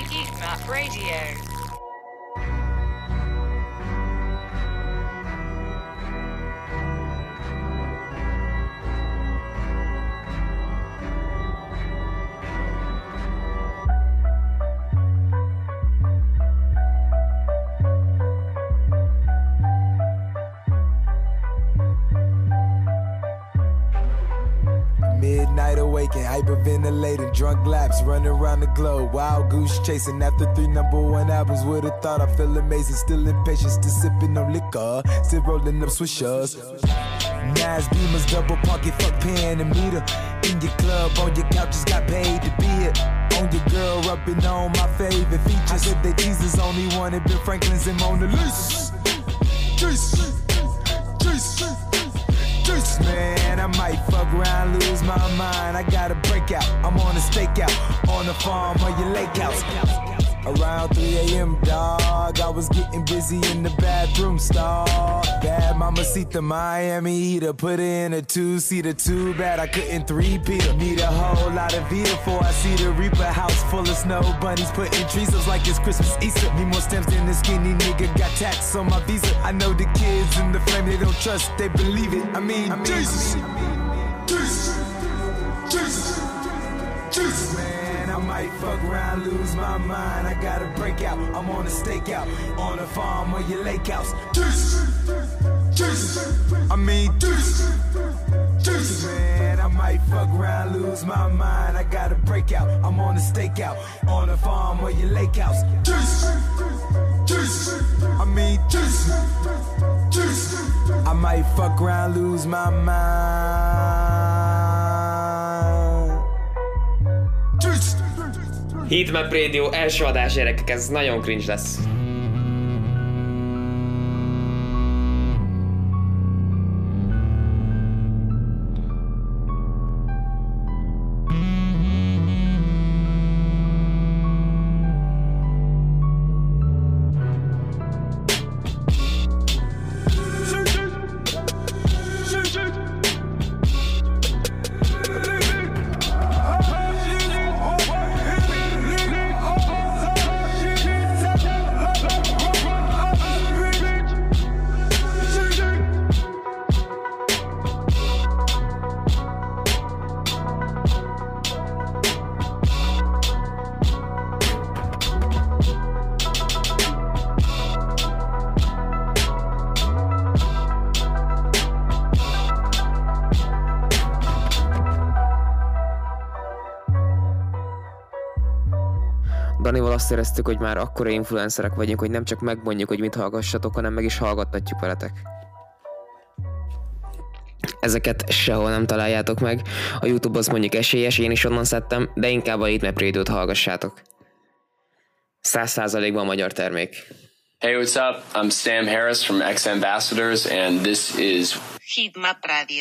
Heatmap Radio. Midnight awaken, hyperventilating, drunk laps, running around the globe, wild goose chasing after 3 #1 albums. Would've thought I feel amazing, still impatient, still sipping on liquor, still rolling up swishers. Nas Beamers, double pocket, fuck pen and meter. In your club, on your couch, just got paid to be it. On your girl, rubbing on my favorite features. I said that Jesus only wanted Ben Franklin's and Mona Lisa. Jesus, Jesus. Man, I might fuck around, lose my mind. I got a breakout, I'm on a stakeout, on the farm or your lake house. Around 3 a.m., dog, I was getting busy in the bathroom stall. Bad mamacita, Miami heater, put her in a 2-seater. Too bad I couldn't 3-peat her. Need a whole lot of Vita before I see the Reaper. House full of snow bunnies, putting trees up like it's Christmas Easter. Need more stems than the skinny nigga, got tax on my visa. I know the kids in the flame, they don't trust, they believe it. I mean Jesus, Jesus, Jesus, Jesus. Man, I might fuck around, lose my mind. I got a breakout, I'm on a stakeout, on a farm or your lake house. Jesus, Jesus, I mean Jesus, Jesus. Man, I might fuck around, lose my mind. I got a breakout, I'm on a stakeout, on a farm or your lake house. Jesus, Jesus, I mean Jesus, Jesus. I might fuck around, lose my mind. Heatmap Radio első adás, gyerekek, ez nagyon cringe lesz. Danival azt éreztük, hogy már akkora influencerek vagyunk, hogy nem csak megmondjuk, hogy mit hallgassatok, hanem meg is hallgattatjuk veletek. Ezeket sehol nem találjátok meg. A YouTube az mondjuk esélyes, én is onnan szedtem, de inkább a Heatmap Radio-t hallgassátok. 100%-ban magyar termék. Hey, what's up? I'm Sam Harris from X Ambassadors, and this is Heatmap Radio.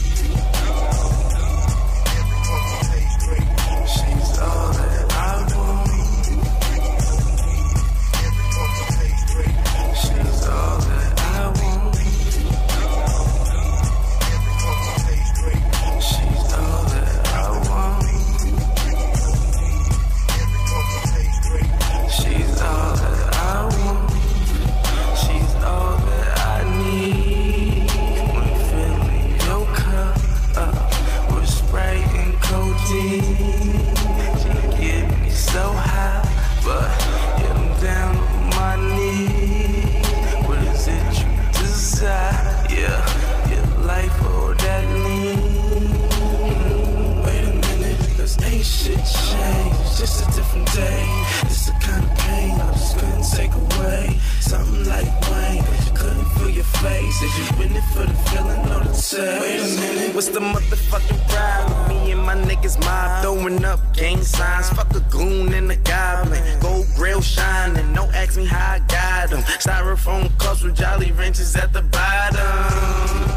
What's the motherfucking problem? Me and my niggas mob throwing up gang signs. Fuck a goon and a goblin. Gold grill shining. Don't ask me how I got them. Styrofoam cups with Jolly Ranchers at the bottom.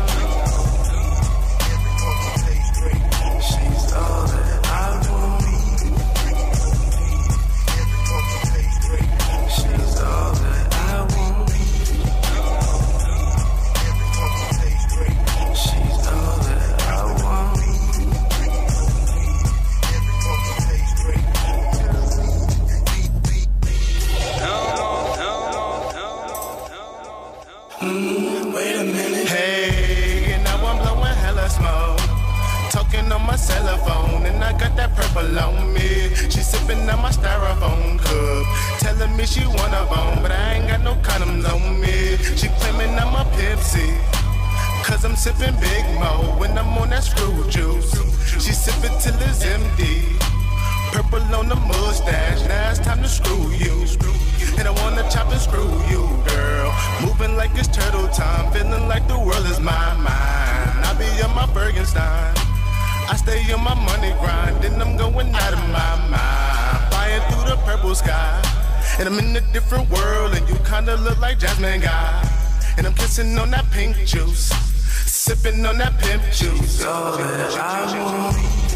that purple on me. She sipping on my styrofoam cup, telling me she want a bone, but I ain't got no condoms on me. She claiming I'm a Pepsi, cause I'm sipping Big Mo when I'm on that screw juice. She sipping till it's empty, purple on the mustache, now it's time to screw you. And I wanna chop and screw you, girl. Moving like it's turtle time, feeling like the world is my mind. I be on my Bergenstein, I stay on my money grind, then I'm going out of my mind. Flying through the purple sky, and I'm in a different world, and you kinda look like Jasmine Guy. And I'm kissing on that pink juice, sipping on that pimp juice. All that I want.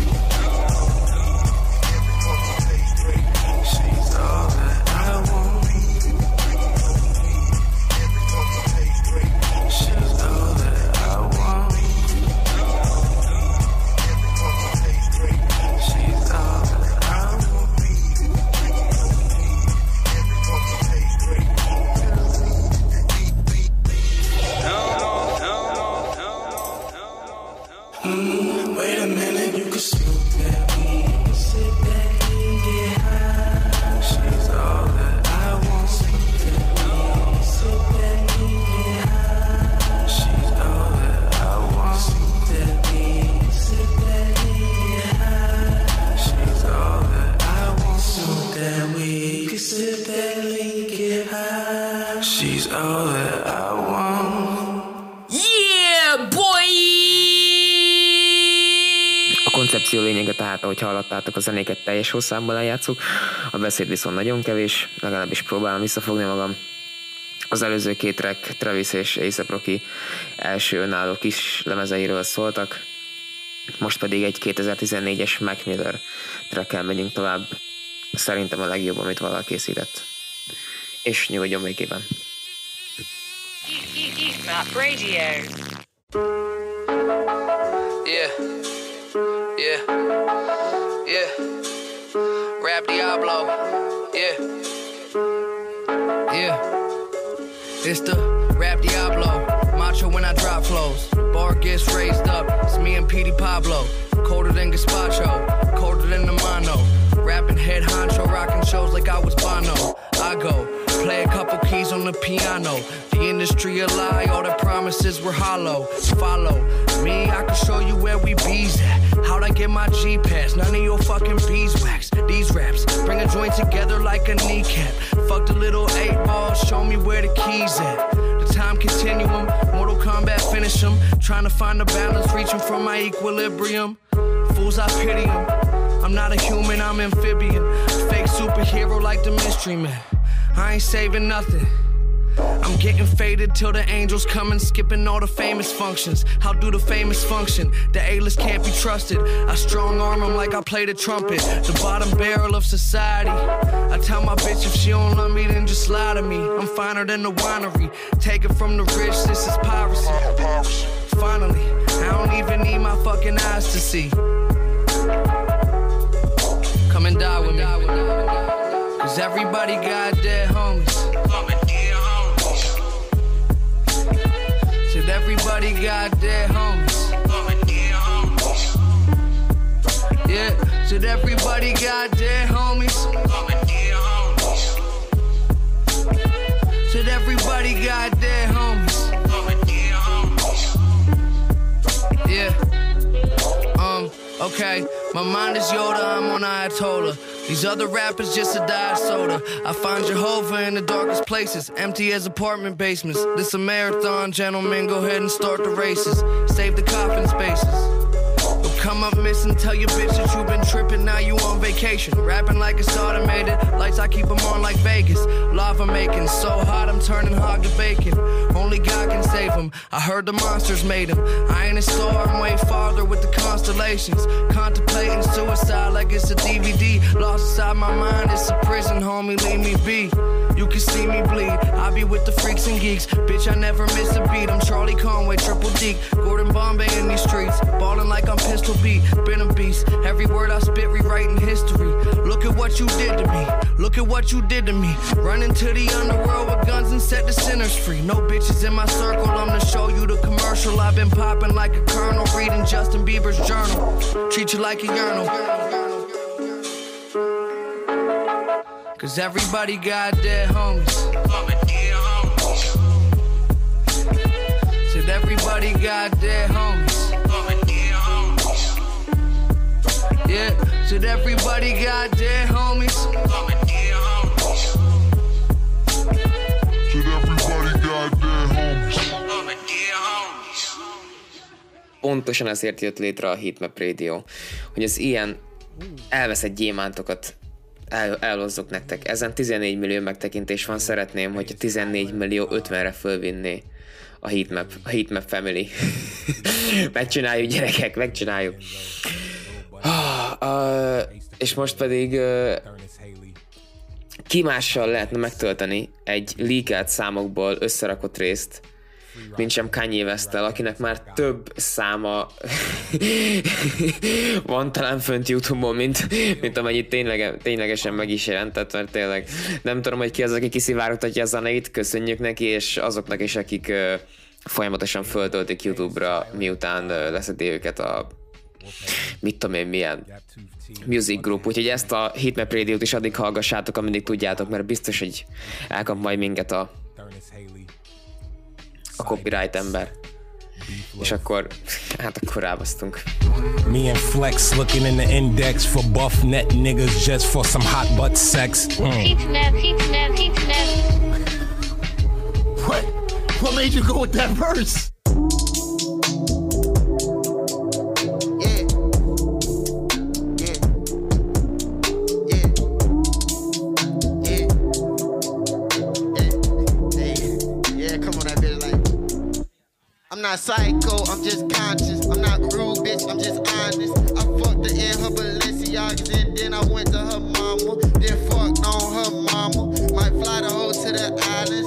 She's all that I want. She's all that I want. She's all that I want. Wait a minute, you can smoke that weed, sit back and get high. She's all that I want. Smoke that weed, sit back and get high. She's all that I want. Smoke that weed, sit back and get high. She's all that I want. Smoke that weed, you can sit back and get high. She's all that I want. Yeah, boy! A koncepció lényege tehát, ahogy hallottátok, a zenéket teljes hosszában lejátszuk, a beszéd viszont nagyon kevés, legalábbis próbálom visszafogni magam. Az előző két track Travis és A$AP Rocky első önálló kis lemezeiről szóltak, most pedig egy 2014-es Mac Miller trackkel megyünk tovább, szerintem a legjobb, amit valaha készített. És nyugodjon békében! Map Radio. Yeah. Rap Diablo. Yeah. It's the Rap Diablo. Macho when I drop flows. Bar gets raised up. It's me and Petey Pablo. Colder than Gazpacho. Colder than the mono. Rapping head honcho. Rocking shows like I was Bono. I go. Play a couple keys on the piano. The industry a lie, all the promises were hollow. Follow me, I can show you where we bees at. How'd I get my G-Pass? None of your fucking beeswax. These raps bring a joint together like a kneecap. Fuck the little 8 balls, show me where the keys at. The time continuum, Mortal Kombat finish them. Trying to find the balance, reaching for my equilibrium. Fools, I pity them. I'm not a human, I'm amphibian. Fake superhero like the Mystery Man. I ain't saving nothing. I'm getting faded till the angels come and skipping all the famous functions. How do the famous function? The A-list can't be trusted. I strong arm them like I play the trumpet. The bottom barrel of society. I tell my bitch if she don't love me then just lie to me. I'm finer than the winery. Take it from the rich, this is piracy. Finally, I don't even need my fucking eyes to see. Come and die with me. Cause everybody got dead homies. Said everybody got dead homies. Yeah, said everybody got dead homies. Said everybody got dead homies. Yeah. Okay, my mind is Yoda, I'm on Ayatollah. These other rappers just a diet soda. I find Jehovah in the darkest places, empty as apartment basements. This a marathon, gentlemen, go ahead and start the races. Save the coffin spaces. Don't come up missing, tell your bitch that you been tripping, now you on vacation. Rapping like it's automated, lights I keep them on like Vegas. Lava making, so hot I'm turning hog to bacon. Only God can save him, I heard the monsters made him. I ain't a star, I'm way farther with the constellations. Contemplating suicide like it's a DVD. Lost inside my mind, it's a prison, homie, leave me be. You can see me bleed, I be with the freaks and geeks. Bitch, I never miss a beat, I'm Charlie Conway, Triple D. Gordon Bombay in these streets, ballin' like I'm Pistol Beat. Been a beast, every word I spit rewriting history. Look at what you did to me, look at what you did to me. Run into the underworld with guns and set the sinners free. No bitches in my circle, I'm to show you the commercial. I've been popping like a colonel, reading Justin Bieber's journal. Treat you like a urinal. Cause everybody got their homies. Said everybody got their homies. Yeah, said everybody got their homies. Said everybody got their homies. Pontosan ezért jött létre a Heatmap Radio, hogy az ilyen elveszett gyémántokat elhozzuk nektek. Ezen 14 millió megtekintés van, szeretném, hogyha 14 millió 50-re fölvinné a Heatmap Family. Megcsináljuk, gyerekek, megcsináljuk. És most pedig ki mással lehetne megtölteni egy leakelt számokból összerakott részt, mint sem Kanye West-tel, akinek már több száma van talán fönt YouTube-on, mint amennyit ténylegesen meg is jelentett, mert tényleg nem tudom, hogy ki az, aki kiszivárogtatja a zeneit, köszönjük neki, és azoknak is, akik folyamatosan föltöltik YouTube-ra, miután leszedi őket a mit tudom én milyen music group, úgyhogy ezt a Heatmap Radio-t is addig hallgassátok, ameddig tudjátok, mert biztos, hogy elkap majd minket a copyright ember. És akkor, hát akkor rábasztunk. Me and Flex looking in the index for buff net niggas just for some hot butt sex. Heatmap. What made you go with that verse? I'm not psycho, I'm just conscious. I'm not rude, bitch, I'm just honest. I fucked her in her Balenciagas and then I went to her mama. Then fucked on her mama. Might fly the hoe to the islands.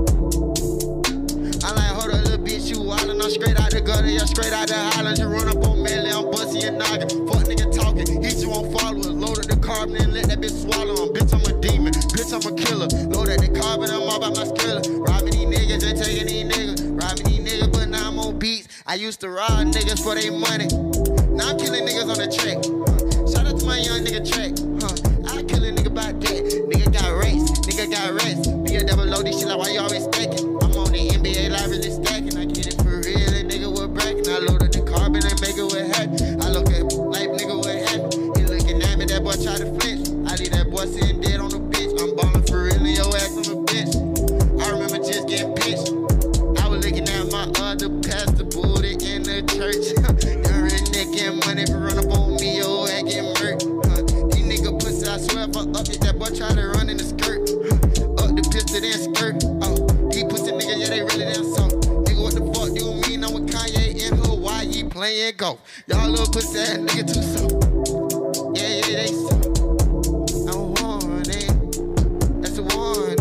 I like, hold up, little bitch, you wildin'. I'm straight out the gutter, yeah, straight out the highlands. You run up on Melly, I'm bustin' your noggin. Fuck nigga talking, hit you on followers. Loaded the carbon and let that bitch swallow him. Bitch, I'm a demon, bitch, I'm a killer. Loaded the carbon, I'm all about my skrilla. Robbing these niggas and taking these niggas. Robbing these niggas, but now I'm on beats. I used to rob niggas for their money. Now I'm killing niggas on the track. Shout out to my young nigga track. I kill a nigga by that. Nigga got race, nigga got rest. Be a double load, this shit like why you always stacking. I'm on the NBA live really stacking. I get it for real, a nigga with bracket. I loaded the carbon and make it with happy. I look at life, nigga with happy. He looking at me, that boy try to flinch. I leave that boy sitting dead on the bench. I'm ballin' for real and your ass on the bench. I remember just getting pitched. I was looking at my other pastor booty in the church. The rich nigga and money for run up on me, your ass get murked. These nigga pussy, I swear if I up it, that boy try to run in the skirt. Up the pistol, then skirt. These pussy niggas, yeah, they really damn soft. Nigga, what the fuck do you mean? I'm with Kanye in Hawaii playing golf. Y'all little pussy ass nigga too soft. Yeah, they soft. I'm warning. That's a warning.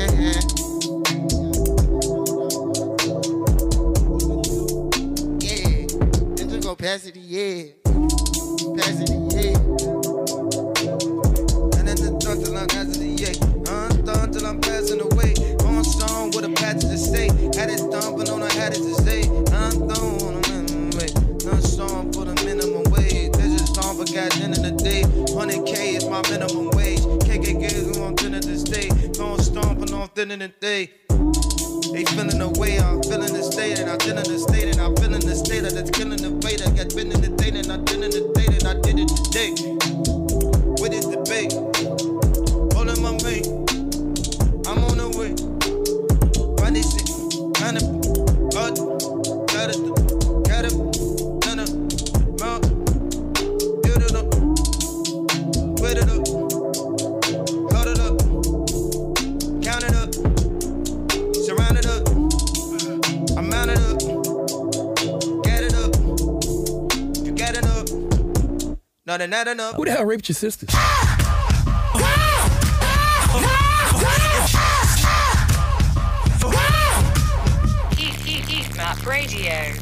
Pass it, yeah. Pass it, yeah. And then the drunk till I'm passing the yeah. Done till I'm passing away. On song with a patch to say. Had it done, but on I had it to say. I'm done on a minimum wage. No song for the minimum wage. This is song for God, end of the day. 100K is my minimum wage. KKK is on dinner to stay. Don't stomping off dinner the day. They feeling the way I'm feeling the state, and I'm feeling the state, and I'm feeling the state that's killing the weight. I got been in the date, and I did in the date, and I did it today. With this debate, all in my mate, I'm on the way. Find this shit, kind of, got it, done it, mount, build it up, put it up, hold it up, count it up. Surround it up, I mount it up, get it up, you get it up, not enough. Who the hell raped your sisters? Heatmap Radio.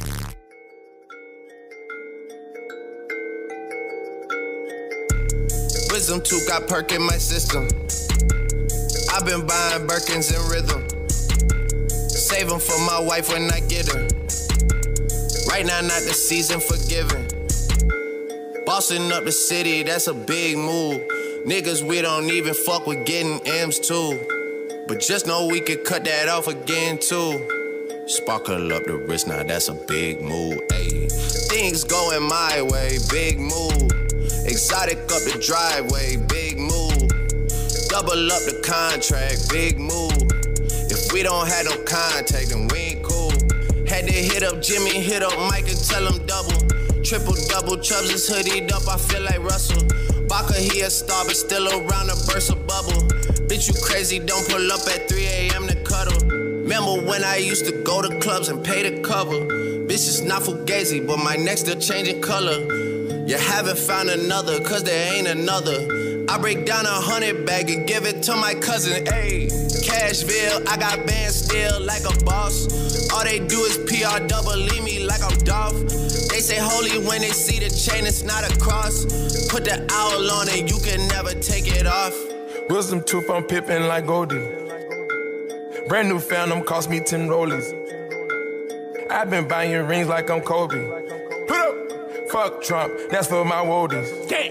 Wisdom tooth got perk in my system. I've been buying Birkins in rhythm. Save them for my wife when I get her. Right now, not the season for giving. Bossing up the city, that's a big move. Niggas, we don't even fuck with getting M's too. But just know we could cut that off again too. Sparkle up the wrist, now that's a big move, ayy. Things going my way, big move. Exotic up the driveway, big move. Double up the contract, big move. If we don't have no contact, then we ain't cool. Had to hit up Jimmy, hit up Mike and tell him double. Triple double, Chubbs is hoodied up, I feel like Russell. Baka, he a star, but still around a burst of bubble. Bitch, you crazy, don't pull up at 3 a.m. to cuddle. Remember when I used to go to clubs and pay the cover? Bitch, it's not fugazi, but my neck still changing color. You haven't found another, cause there ain't another. I break down 100 bag and give it to my cousin, ayy. Cashville, I got bands still like a boss. All they do is PR double, leave me like I'm Dolph. They say holy when they see the chain, it's not a cross. Put the owl on it, you can never take it off. Wisdom tooth, I'm pippin' like Goldie. Brand new Phantom cost me 10 rollies. I've been buying rings like I'm Kobe. Put up, fuck Trump, that's for my woadies.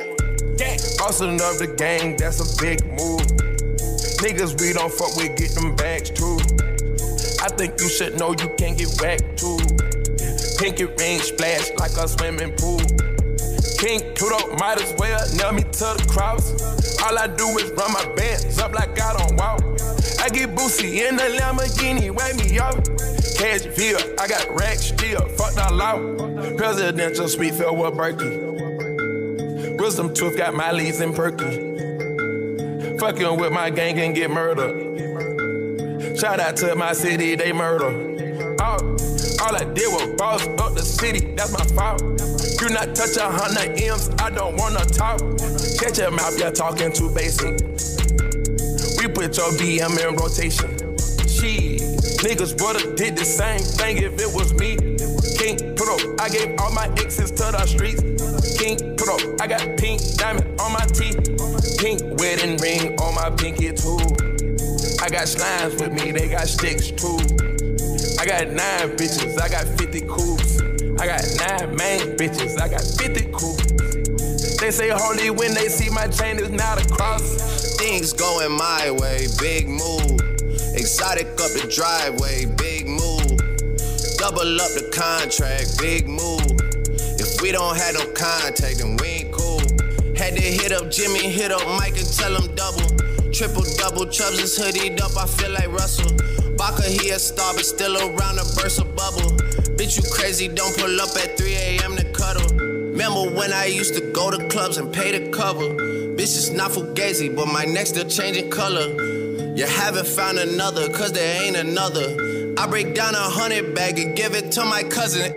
Bossing up the gang, that's a big move. Niggas we don't fuck with, get them bags too. I think you should know you can't get whacked too. Pinky ring splash like a swimming pool. King Pluto might as well nail me to the cross. All I do is run my bands up like I don't walk. I get Boosie in the Lamborghini, wake me up. Cashville, I got racks still, fucked all out. Presidential suite filled with Berkey. Wisdom tooth got my leads in Perky. Fucking with my gang and get murdered. Shout out to my city, they murder. All I did was boss up the city, that's my fault. You not touch 100 M's, I don't wanna talk. Catch your mouth, you're talking too basic. We put your DM in rotation. Shit, niggas would've did the same thing if it was me. King Pro, I gave all my exes to the streets. King Pro, I got pink diamond on my teeth. Pink wedding ring on my pinky too. I got slimes with me, they got sticks too. I got 9 bitches, I got 50 coupes. I got 9 main bitches, I got 50 coupes. They say holy when they see my chain is not a cross. Things going my way, big move. Exotic up the driveway, big move. Double up the contract, big move. If we don't have no contact, then we ain't cool. Had to hit up Jimmy, hit up Mike and tell him double. Triple double, Chubbs is hoodied up, I feel like Russell. Baka, he a star, but still around a burst of bubble. Bitch, you crazy, don't pull up at 3 a.m. to cuddle. Remember when I used to go to clubs and pay the cover? Bitch, it's not fugazi, but my neck still changing color. You haven't found another, cause there ain't another. I break down 100 bag and give it to my cousin.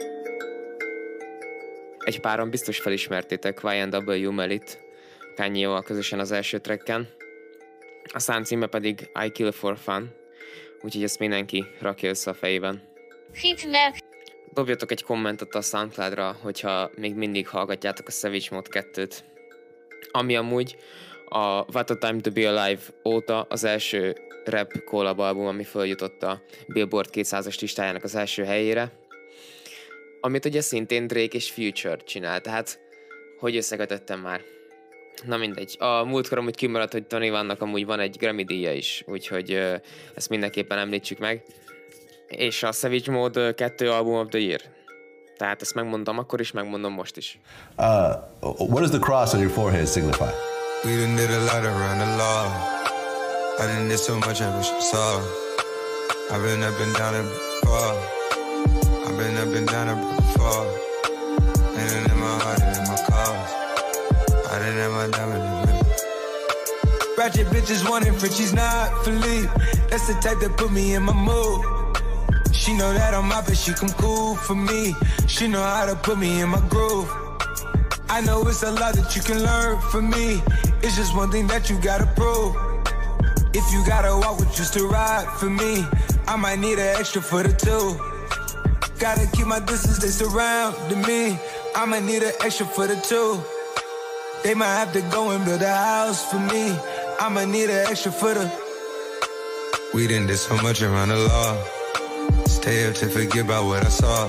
Egy páron biztos felismertétek YNW Melit Kanye-val közösen az első tracken. A szám címe pedig I Kill For Fun, úgyhogy ezt mindenki rakja össze a fejében. Dobjatok egy kommentet a SoundCloud-ra, hogyha még mindig hallgatjátok a Savage Mode 2-t. Ami amúgy a What a Time to Be Alive óta az első rap collab album, ami följutott a Billboard 200-as listájának az első helyére. Amit ugye szintén Drake és Future csinál, tehát hogy összekötöttem már. Na mindegy. A múltkor amúgy kimaradt, hogy Tony Vannak amúgy van egy Grammy díja is, úgyhogy ezt mindenképpen említsük meg. És a Savage Mode 2 Album of the Year. Tehát ezt megmondom akkor is, megmondom most is. What does the cross on your forehead signify? We done did a lot around the law. I done did so much I wish you saw. I've been up and down it before. I've been up and down it before. And in my heart and in my cars. I done had my diamond in me. Ratchet bitches wanting Frenchies, not Philippe. That's the type that put me in my mood. She know that I'm out, but she come cool for me. She know how to put me in my groove. I know it's a lot that you can learn from me. It's just one thing that you gotta prove. If you gotta walk with just to ride for me, I might need an extra for the two. Gotta keep my distance, they surrounding me. I might need an extra for the two. They might have to go and build a house for me. I might need an extra for the. We done did so much around the law. Stay up to forget about what I saw.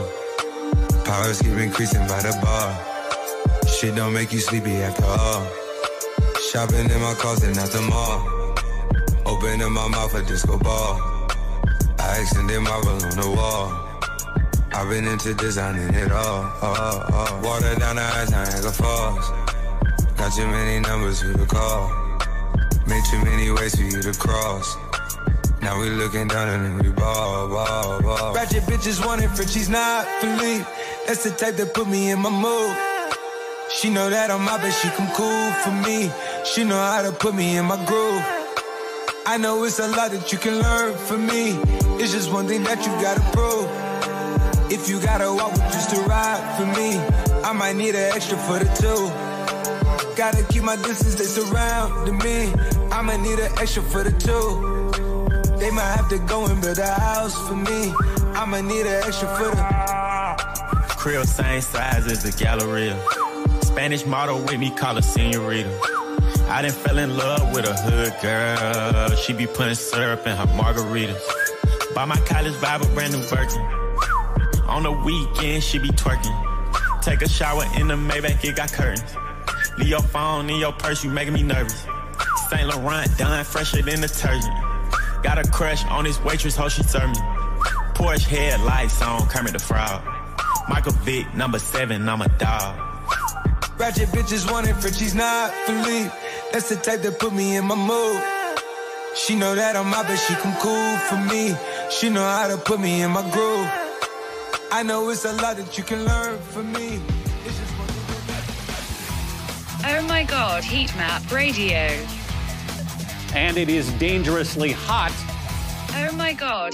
Powers keep increasing by the bar. Shit don't make you sleepy after all. Shopping in my closet at the mall. Opening my mouth a disco ball. I extended my roll on the wall. I've been into designing it all. Water down the eyes, Niagara Falls. Got too many numbers for the call. Made too many ways for you to cross. Now we looking down and we ball. Ratchet bitches wanting Frenchies, not Philippe. That's the type that put me in my mood. She know that I'm out, but she come cool for me. She know how to put me in my groove. I know it's a lot that you can learn from me. It's just one thing that you gotta prove. If you gotta walk with just to ride for me, I might need an extra for the two. Gotta keep my distance, they surrounding me. I might need an extra for the two. They might have to go and build a house for me. I might need an extra for the crib same size as the Galleria. Spanish model with me, call her senorita. I done fell in love with a hood girl. She be putting syrup in her margaritas. Buy my college vibe a brand new Birkin. On the weekend, she be twerking. Take a shower in the Maybach, it got curtains. Leave your phone in your purse, you making me nervous. Saint Laurent done fresher than detergent. Got a crush on this waitress, how she serve me. Porsche headlights on Kermit the Frog. Michael Vick, number 7, I'm a dog. Ratchet bitches wanting Frenchies, not Philippe. That's the type that put me in my mood. She know that I'm out, but she come cool for me. She know how to put me in my groove. I know it's a lot that you can learn from me. It's just one thing. Oh my God, Heat Map Radio. And it is dangerously hot. Oh my God.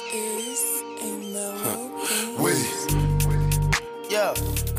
Wait. Yeah.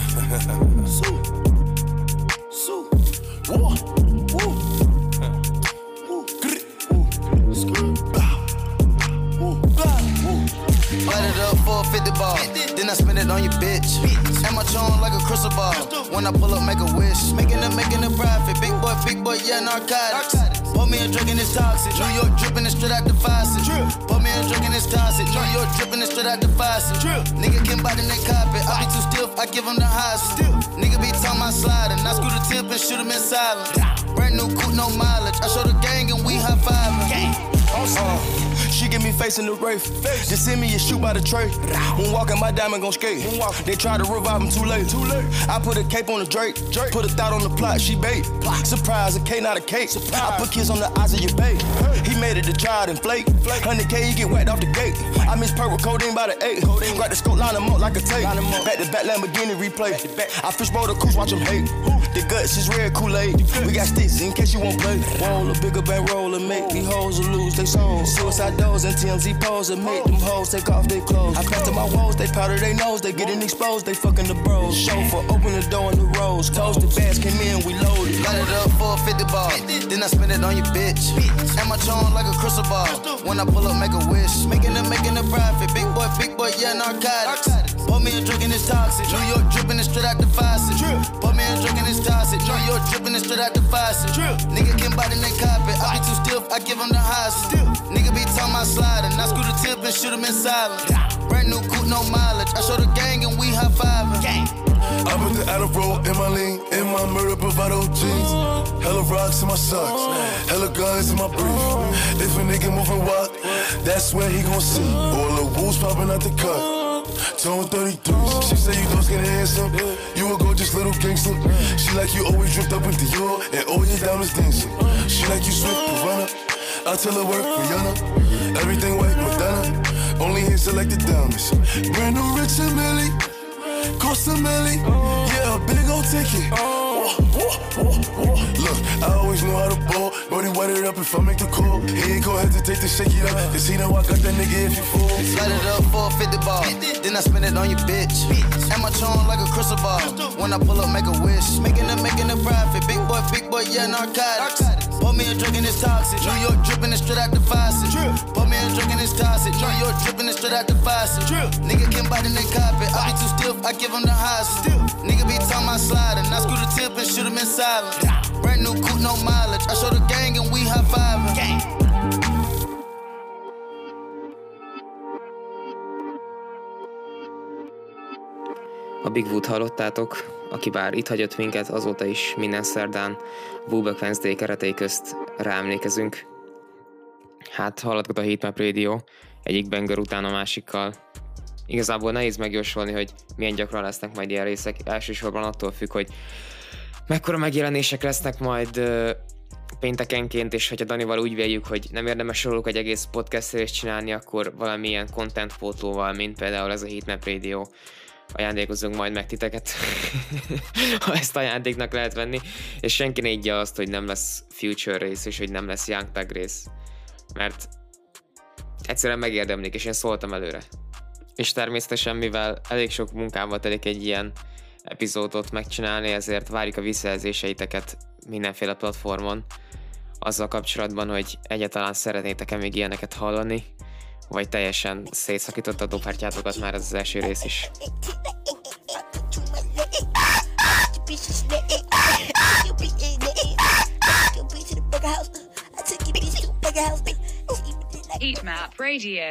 Light it up for a 50 ball, then I spend it on your bitch. And my tone like a crystal ball. When I pull up, make a wish. Making a profit. Big boy, yeah, narcotics. Pour me a drink and it's toxic. New York dripping it straight out the faucet. Pour me a drink and it's toxic. New York dripping it straight out the faucet. Nigga can bite in that carpet. I be too stiff, I give him the highs. Nigga be talking my sliding. I screw the tip and shoot him in silence. Brand new coupe, no mileage. I show the gang and we high fiving. She give me face in the Wraith. Just send me a shoot by the tray. When walking, my diamond gon' skate. They try to revive him too late. I put a cape on the Drake. Put a thought on the plot, she bait. Surprise, a K, not a cake. I put kiss on the eyes of your babe. He made it to try it and flake. 100K, you get whacked off the gate. I miss purple codeine by the 8. Grab the scope, line him up like a tape. Back to back Lamborghini replay. I fishbowl the cruise, watch him hate. The guts is red Kool-Aid. We got sticks in case you won't play. Roll a bigger bankroll and make these hoes lose they soul. Suicide doors and TMZ pose and make them hoes take off their clothes. I pass to my woes, they powder their nose, they getting exposed, they fucking the bros. Chauffeur, open the door in the rose. Close the bags, came in, we loaded. Light it up for a 50 ball, then I spend it on your bitch. And my tone like a crystal ball. When I pull up, make a wish. Making a profit. Big boy, yeah, narcotics. Pour me a drink and it's toxic. New York dripping it straight out the faucet. Pour me a drink and it's toxic. New York dripping it straight out the faucet. Nigga can bite in that carpet. I be too stiff, I give him the highs. Nigga be talking my sliding. I screw the tip and shoot him in silence. Brand new coupe, no mileage. I show the gang and we high fiving. I put the Adderall in my lean, in my murder bravado jeans. Hella rocks in my socks, hella guns in my brief. If a nigga moving walk, that's where he gon' see. All the wolves popping out the cut. Tone 33s. She say you don't skin handsome. You a gorgeous little gangster. She like you always dripped up in Dior and all your diamonds dancing. She like you swift runner. I tell her work Rihanna. Everything white Madonna. Only in selected diamonds. Brand new Rich and Millie. Cost a milli. Yeah, a big old ticket. Look, I always know how to ball. Brody white it up if I make the call. He ain't gon' hesitate to shake it up. Cause he know I got that nigga if you fall. Light it up for a 50 ball, then I spend it on your bitch. And my tone like a crystal ball. When I pull up, make a wish. Making a profit. Big boy, yeah, narcotics. Pour me a drink and it's toxic. New York dripping it straight out the faucet. Pour me a drink and it's toxic. New York dripping it straight out the faucet. Nigga can bite in that carpet. I be too stiff, I give him the highs. Nigga be talking my sliding. I screw the tip and shoot him in silence. Brand new coupe, no mileage. I show the gang and we high fiving. A Big Wood hallottátok, aki bár itt hagyott minket, azóta is minden szerdán Woolback Wednesday keretei közt ráemlékezünk. Hát hallottak a Heatmap Radio egyik banger után a másikkal. Igazából nehéz megjósolni, hogy milyen gyakran lesznek majd ilyen részek. Elsősorban attól függ, hogy mekkora megjelenések lesznek majd péntekenként, és hogyha Danival úgy véljük, hogy nem érdemes róluk egy egész podcast részt csinálni, akkor valamilyen content pótlóval, mint például ez a Heatmap Radio, ajándékozunk majd meg titeket, ha ezt ajándéknak lehet venni, és senki ne ígya azt, hogy nem lesz Future rész, és hogy nem lesz Young Thug rész, mert egyszerűen megérdemlik, és én szóltam előre. És természetesen, mivel elég sok munkával telik egy ilyen epizódot megcsinálni, ezért várjuk a visszajelzéseiteket mindenféle platformon, azzal kapcsolatban, hogy egyáltalán szeretnétek-e még ilyeneket hallani, vagy teljesen szétszakította a dobhártyátokat már ez az első rész is. Heatmap Radio.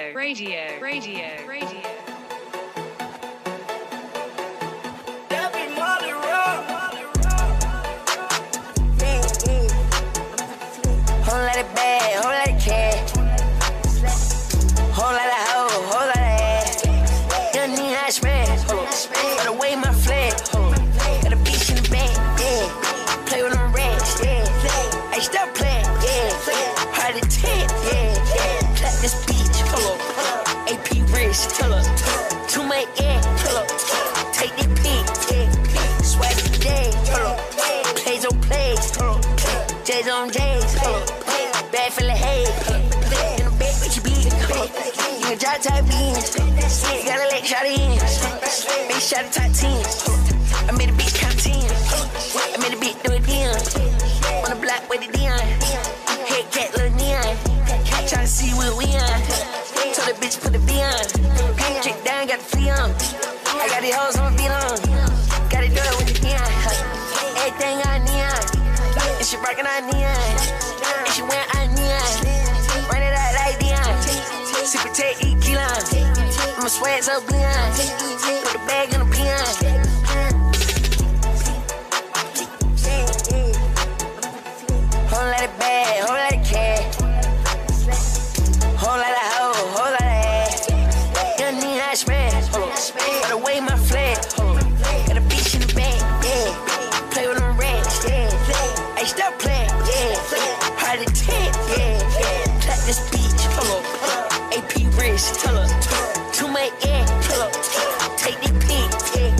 Whole lot of bad, whole lot of cash. Whole lot of hoe, whole lot of ass. Young need hot smash. Gotta wave my flag. Got a bitch in the back, yeah. Play with them rats, yeah. Hey, stop playing, yeah. Hard to take, yeah. Clap this bitch, AP wrist, too much air, take this pic, yeah. Swag today, plays on plays, J's on J's, bad for the hay, in the back with your beat, you can drop top beans, gotta let shot in, big shot of top 10, I made a beat count 10, I made a beat do it again, on the block with the Dion, head cat little neon, tryna see what we on, told the bitch put the V on, chick down got the flea on, I got these hoes on my beat on, gotta do it with the neon, everything on neon, and she rockin' on neon, and she went on neon, run it out like Dion, super take eat Keelan, I'ma swag so beyond, put the bag in the peon. Whole lot of bad, whole lot of cash, whole lot of hoe, whole lot of ass. Young need hot smash, gotta wave my flag, got a bitch in the back, yeah. Play with them rats, yeah. Hey, stop playing, yeah. Hard to take, yeah. Clap this bitch, AP wrist, too much air, take this pic, yeah.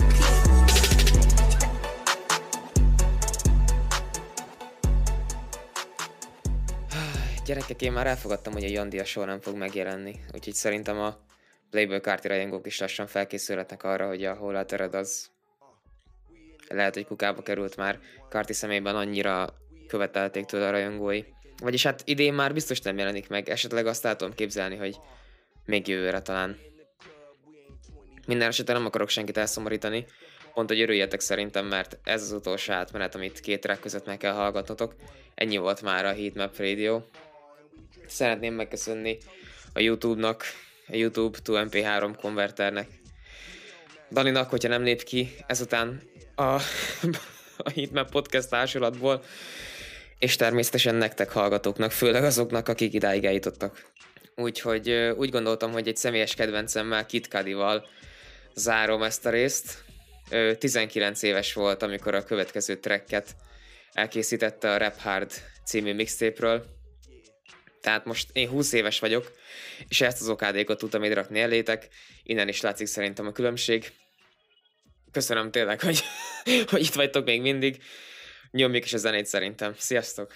Gyerekek, én már elfogadtam, hogy a Jandia soha nem fog megjelenni, úgyhogy szerintem a Playboy Carti rajongók is lassan felkészülhetnek arra, hogy a Hol Altered az lehet, hogy kukába került már. Carti személyben annyira követelték tőle a rajongói. Vagyis hát idén már biztos nem jelenik meg, esetleg azt el tudom képzelni, hogy még jövőre talán. Minden esetben nem akarok senkit elszomorítani, pont hogy örüljetek szerintem, mert ez az utolsó átmenet, amit két track között meg kell hallgatnotok. Ennyi volt már a Heatmap Radio. Szeretném megköszönni a YouTube-nak, a YouTube to MP3 konverternek, Daninak, hogyha nem lép ki ezután a Heatmap podcast társulatból, és természetesen nektek hallgatóknak, főleg azoknak, akik idáig eljutottak. Úgyhogy úgy gondoltam, hogy egy személyes kedvencemmel, Kid Cudival zárom ezt a részt. 19 éves volt, amikor a következő tracket elkészítette a Rap Hard című mixtape-ről. Tehát most én 20 éves vagyok, és ezt az okádékot tudtam ide rakni elétek. Innen is látszik szerintem a különbség. Köszönöm tényleg, hogy itt vagytok még mindig. Nyomjuk is a zenét szerintem. Sziasztok!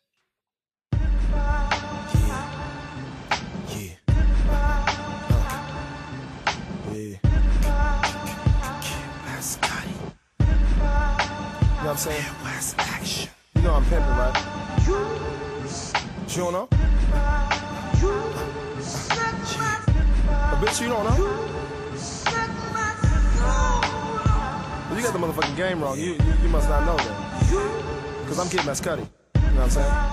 You know what I'm saying? You know I'm pimping, right? You don't know? A bitch you don't know? Well, you got the motherfucking game wrong. You must not know that. Cause I'm Kid Mascuddy. You know what I'm saying?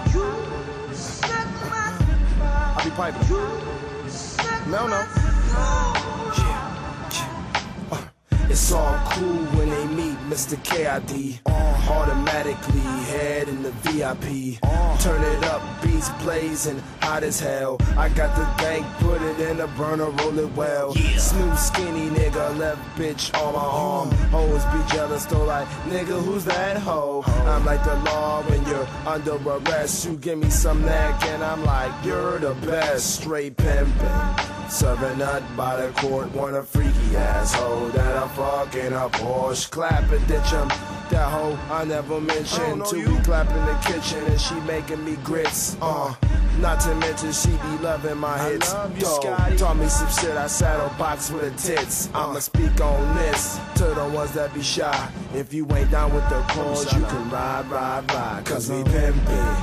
I be piping. No. It's all cool when they meet Mr. KID. Automatically head in the VIP. Turn it up, beats blazing, hot as hell. I got the bank, put it in a burner, roll it well. Smooth skinny nigga, left bitch on my arm. Hoes be jealous though, like nigga, who's that hoe? I'm like the law when you're under arrest. You give me some neck and I'm like, you're the best. Straight pimpin', serving nut by the court. Want a freaky asshole that I'm fucking a Porsche. Clap it, ditch him. That hoe I never mentioned. Till we clap in the kitchen and she making me grits. Not to mention she be loving my hits. Taught me some shit, I saddle box with the tits. I'ma speak on this to the ones that be shy. If you ain't down with the cause, you can ride, ride, ride. Cause we pimpin'.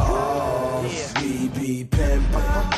Oh, we be pimpin'.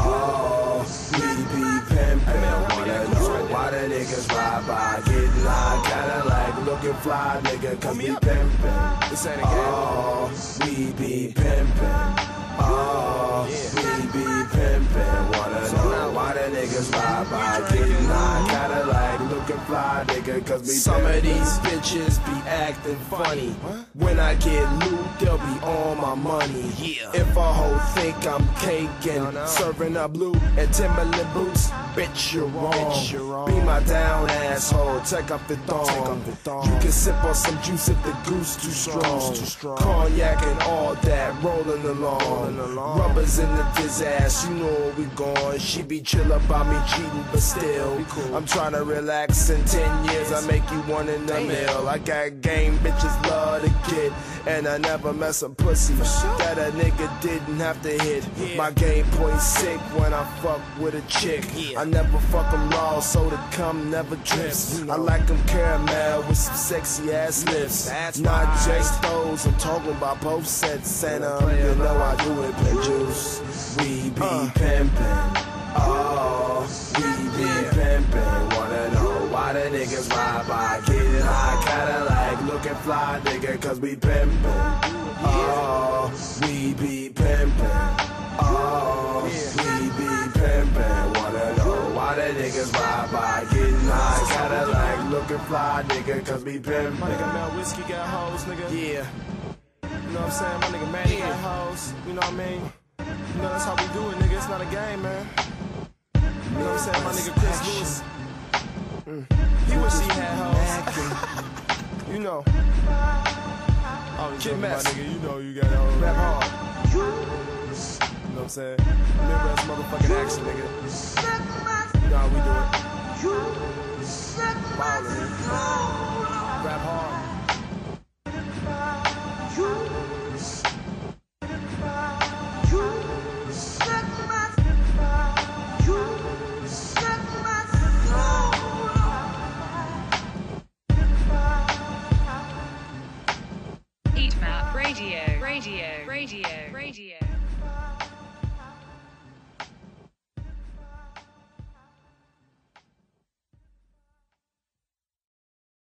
Oh, we be pimpin'. Wanna know why the niggas ride by, getting high, Cadillac, looking fly, nigga, cause we pimpin'. This ain't a game. Oh, we be pimpin'. Oh, we be pimpin'. Wanna know why the niggas ride by, getting high, Cadillac, looking fly, nigga, cause we some of these bitches be acting funny. When I get loot, they'll be on my money. If a hoe think I'm caking, serving up loot and Timberland boots, bitch, you're wrong. Be my down asshole, take up the thong. You can sip on some juice if the goose too strong. Cognac and all that, rolling along. Rubbers in the fizz ass, you know where we going. She be chill about me cheating, but still I'm tryna relax. In 10 years I make you one in the mill. I got game, bitches love to get, and I never mess a pussy that a nigga didn't have to hit. My game point sick when I fuck with a chick. I never fuck them raw, so the cum never drips. I like them caramel with some sexy ass lips. Not just those, I'm talking about both sets. And you know I do it, pimp juice. We be pimpin'. Oh, we be pimpin'. Wanna know why the niggas ride by, getting high, Cadillac, looking fly, nigga, cause we pimpin'. Oh, we be pimpin'. Oh, we be pimpin'. Wanna know why the niggas ride by, getting high, Cadillac, looking fly, nigga, cause we pimpin'. My nigga Mel Whiskey got hoes, nigga. Yeah. You know what I'm saying? My nigga Manny got hoes. You know what I mean? You know that's how we do it, nigga. It's not a game, man. You know what I'm saying? My nigga Chris Lewis. He wish he had hoes. You know. Kid Mess. My nigga, you know you got hoes. Rap hard. You know what I'm saying? Remember that's motherfucking action, nigga. You know how we do it. Ballin'. Rap hard. Heat Map Radio.